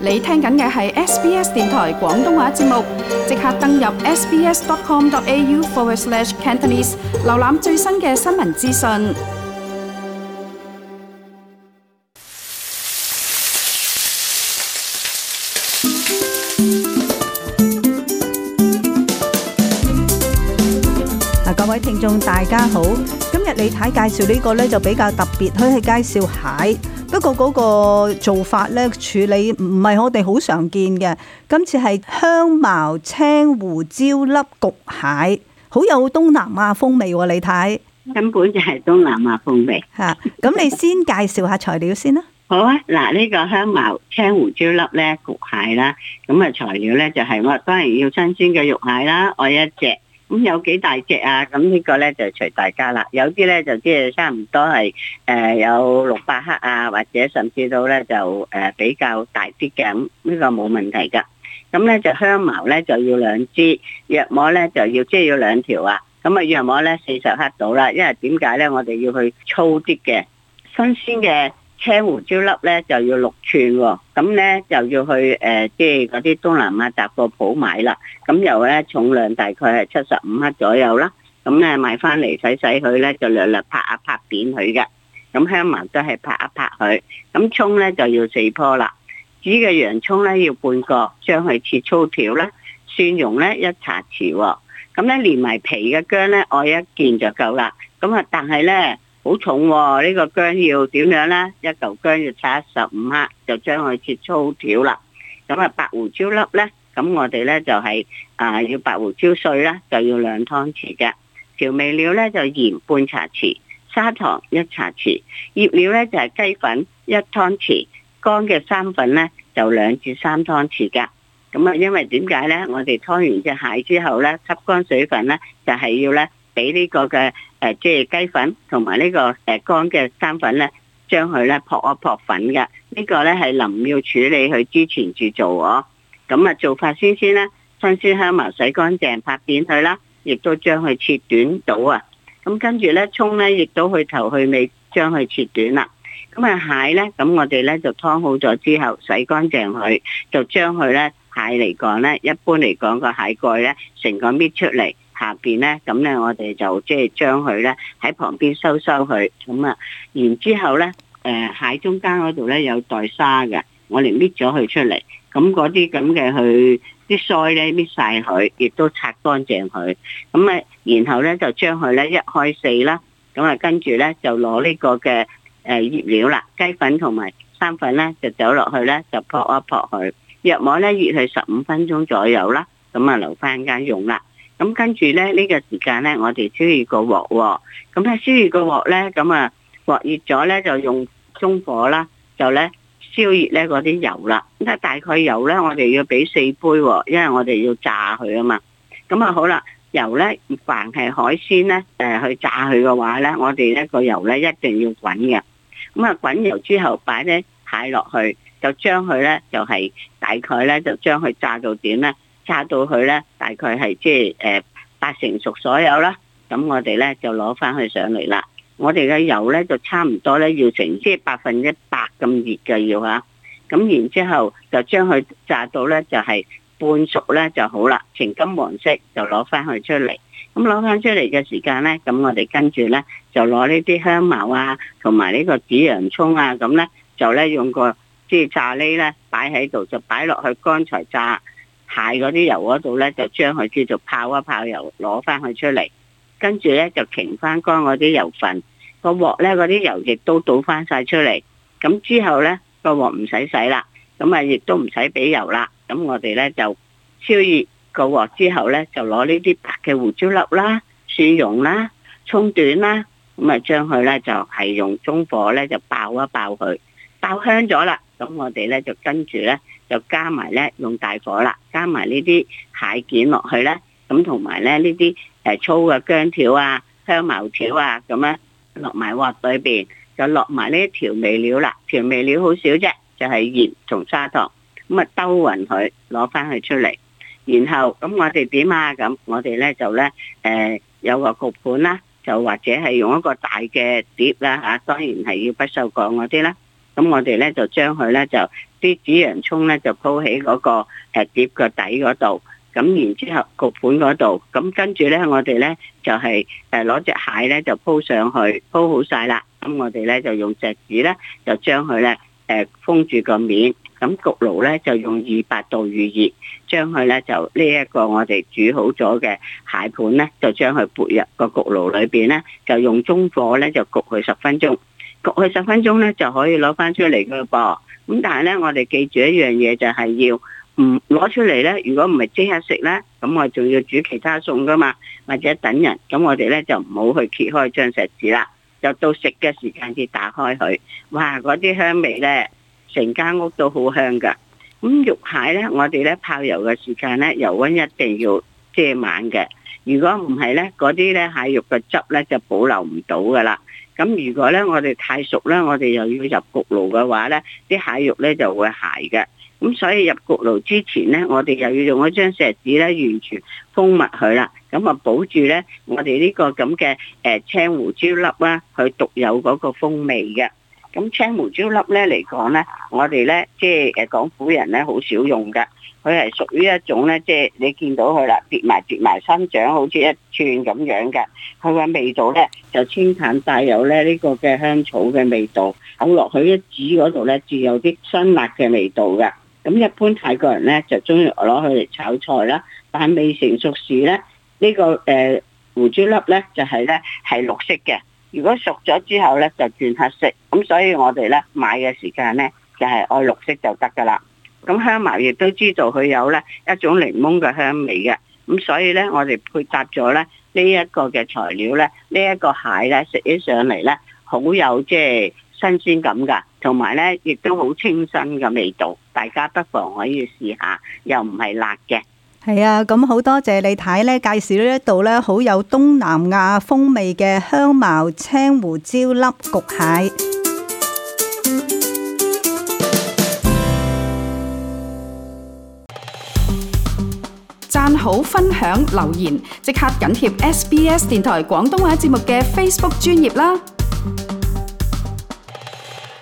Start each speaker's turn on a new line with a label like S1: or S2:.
S1: 你聽緊嘅係 SBS 電台廣東話節目，即刻登入 sbs.com.au/cantonese 瀏覽最新嘅新聞資訊。
S2: 各位聽眾大家好，今日李太介紹呢個呢就比較特別，佢係介紹蟹。不過嗰個做法咧，處理唔係我哋好常見嘅。今次係香茅青胡椒粒焗蟹，好有東南亞風味喎，李太。
S3: 根本就係東南亞風味。
S2: 嚇，咁你先介紹下材料先啦。
S3: 好啊，嗱，呢個香茅青胡椒粒咧焗蟹啦，咁啊材料咧就係我當然要新鮮嘅肉蟹啦，我一隻。咁有幾大隻啊？咁呢個咧就隨大家啦。有啲咧就即係差唔多係有600克啊，或者甚至到咧就比較大啲嘅，咁呢個冇問題噶。咁咧就香茅咧就要2支，藥膜咧就要即係要2條啊。咁啊藥膜咧40克到啦，因為點解咧？我哋要去粗啲嘅新鮮嘅青胡椒粒咧就要6寸喎，咁咧就要去即係嗰啲東南亞雜貨鋪買啦。咁又咧重量大概係75克左右啦。咁咧買翻嚟洗佢咧就略略拍一拍扁佢嘅。咁香茅都係拍一拍佢。咁葱咧就要4棵啦。紫嘅洋葱咧要半個，將佢切粗條啦。蒜蓉咧1茶匙喎。咁咧連埋皮嘅薑咧，愛1件就夠啦。咁啊，但係咧好重喎，呢個薑要點樣咧？一嚿薑要拆15克，就將佢切粗條啦。咁啊，白胡椒粒咧，咁我哋咧就係要白胡椒碎啦，就要2湯匙嘅。調味料咧就鹽半茶匙，砂糖1茶匙，醃料咧就係雞粉1湯匙，乾嘅生粉咧就2至3湯匙噶。咁啊，因為點解咧？我哋拖完隻蟹之後咧，吸乾水分咧，就係要咧俾呢個嘅即係雞粉同埋呢個乾嘅生粉咧，將佢咧撲一撲粉嘅。呢個咧係臨要處理佢之前至做喎。咁啊，做法先咧，新鮮香茅洗乾淨，拍扁佢啦，亦都將佢切短到啊。咁跟住咧，葱咧亦都去頭去尾，將佢切短啦。咁啊，蟹咧，咁我哋咧就劏好咗之後，洗乾淨佢，就將佢咧蟹嚟講咧，一般嚟講個蟹蓋咧，成個搣出嚟，下邊咧，咁咧我哋就即係將佢咧喺旁邊收佢。咁啊，然之後咧，蟹中間嗰度咧有袋沙嘅，我哋搣咗佢出嚟。咁嗰啲咁嘅佢啲腮咧搣晒佢，亦都擦乾淨佢。咁啊，然後咧就將佢咧1開4啦。咁啊，跟住咧就攞呢個嘅醃料啦，雞粉同埋生粉咧就走落去咧就撲一撲佢。藥膜咧醃佢15分鐘左右啦。咁啊留翻間用啦。咁跟住咧呢個時間咧，我哋燒熱個鑊喎。咁咧燒熱個鑊咧，咁啊鑊熱咗咧就用中火啦，就咧燒熱咧嗰啲油啦。咁大概油咧，我哋要俾4杯喎，因為我哋要炸佢啊嘛。咁啊好啦，油咧凡係海鮮咧去炸佢嘅話咧，我哋咧個油咧一定要滾嘅。咁啊滾油之後擺啲蟹落去，就將佢咧就係大概咧就將佢炸到點咧？炸到佢咧，大概係即係8成熟左右啦。咁我哋咧就攞翻佢上嚟啦。我哋嘅油咧就差唔多咧要成即係100%咁熱嘅要嚇。咁然之後就將佢炸到咧就係半熟咧就好啦，呈金黃色就攞翻佢出嚟。咁攞翻出嚟嘅時間咧，咁我哋跟住咧就攞呢啲香茅啊，同埋呢個紫洋葱啊，咁咧就咧用個即係炸喱咧擺喺度，就擺落去剛才炸蟹嗰啲油嗰度咧，就將佢叫做泡一泡油，攞翻佢出嚟，跟住咧就擎翻乾嗰啲油份，個鑊咧嗰啲油亦都倒翻晒出嚟。咁之後咧個鑊唔使洗啦，咁啊亦都唔使俾油啦。咁我哋咧就燒熱個鑊之後咧，就攞呢啲白嘅胡椒粒啦、蒜蓉啦、葱段啦，咁啊將佢咧就係用中火咧就爆一爆佢，爆香咗啦。咁我哋咧就跟住咧就加埋咧用大火啦，加埋呢啲蟹件落去咧，咁同埋咧呢啲粗嘅薑條啊、香茅條啊，咁樣落埋鑊裏邊，就落埋呢啲調味料啦。調味料好少啫，就係鹽同砂糖，咁啊兜勻佢，攞翻佢出嚟。然後咁我哋點啊？咁我哋咧就咧有個焗盤啦，就或者係用一個大嘅碟啦嚇，當然係要不鏽鋼嗰啲啦。 咁我哋咧就將佢咧就啲紫洋葱咧就鋪喺嗰個碟個底嗰度，咁然之後焗盤嗰度，咁跟住咧我哋咧就係攞隻蟹咧就鋪上去，鋪好晒啦。咁我哋咧就用錫紙咧就將佢咧封住個面，咁焗爐咧就用200度預熱，將佢咧就呢一個我哋煮好咗嘅蟹盤咧，就將佢撥入個焗爐裏邊咧，就用中火咧就焗佢10分鐘。焗佢10分鐘咧就可以攞翻出嚟噶噃。咁但係咧，我哋記住一樣嘢就係要唔攞出嚟咧。如果唔係即刻食咧，咁我仲要煮其他餸噶嘛，或者等人。咁我哋咧就唔好去揭開張錫紙啦，就到食嘅時間至打開佢。哇！嗰啲香味咧，成間屋都好香噶。咁肉蟹咧，我哋咧泡油嘅時間咧，油溫一定要遮滿嘅。如果唔係咧，嗰啲咧蟹肉嘅汁咧就保留唔到噶啦。咁如果咧我哋太熟咧，我哋又要入焗爐嘅話咧，啲蟹肉咧就會柴嘅。咁所以入焗爐之前咧，我哋又要用一張錫紙咧，完全封密佢啦。咁啊保住咧，我哋呢個咁嘅青胡椒粒啦，佢獨有嗰個風味嘅。咁青胡椒粒咧嚟講咧，我哋咧即係廣府人咧好少用嘅。佢係屬於一種咧，即係你見到佢啦，疊埋生長，好似一串咁樣嘅。佢嘅味道咧就清淡帶有咧呢個嘅香草嘅味道，咬落去一指嗰度咧，仲有啲辛辣嘅味道嘅。咁一般泰國人咧就中意攞佢嚟炒菜啦，但係未成熟時咧，呢個胡椒粒咧就係綠色嘅。如果熟咗之後咧就轉黑色。咁所以我哋咧買嘅時間咧就係愛綠色就得噶啦。咁香茅亦都知道佢有咧一種檸檬嘅香味嘅，咁所以咧我哋配搭咗咧呢一個嘅材料咧，呢一個蟹咧食起上嚟咧好有即係新鮮感噶，同埋咧亦都好清新嘅味道，大家不妨可以試下，又唔係辣嘅。
S2: 係啊，咁好多謝李太咧介紹呢一道咧好有東南亞風味嘅香茅青胡椒粒焗蟹。
S1: 讚好、分享、留言，即刻緊貼SBS 電台廣東話節目嘅 Facebook 專頁啦！